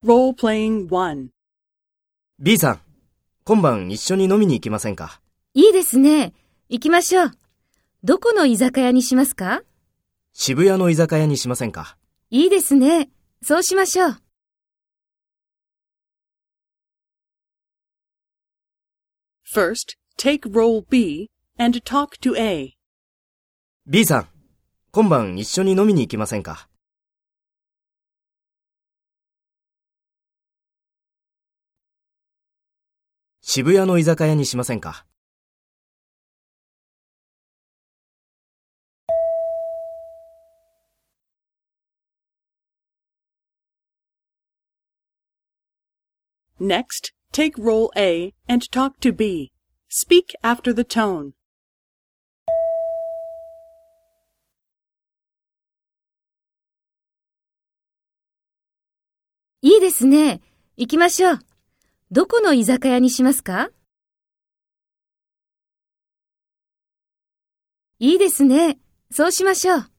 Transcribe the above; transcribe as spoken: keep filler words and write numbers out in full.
Role-playing one. B さん、今晩一緒に飲みに行きませんか？ いいですね。行きましょう。どこの居酒屋にしますか？ 渋谷の居酒屋にしませんか？ いいですね。そうしましょう。 First, take role B and talk to A. B さん、今晩一緒に飲みに行きませんか？渋谷の居酒屋にしませんか？ Next, take role A and talk to B. Speak after the tone. いいですね。行きましょう。どこの居酒屋にしますか？いいですね。そうしましょう。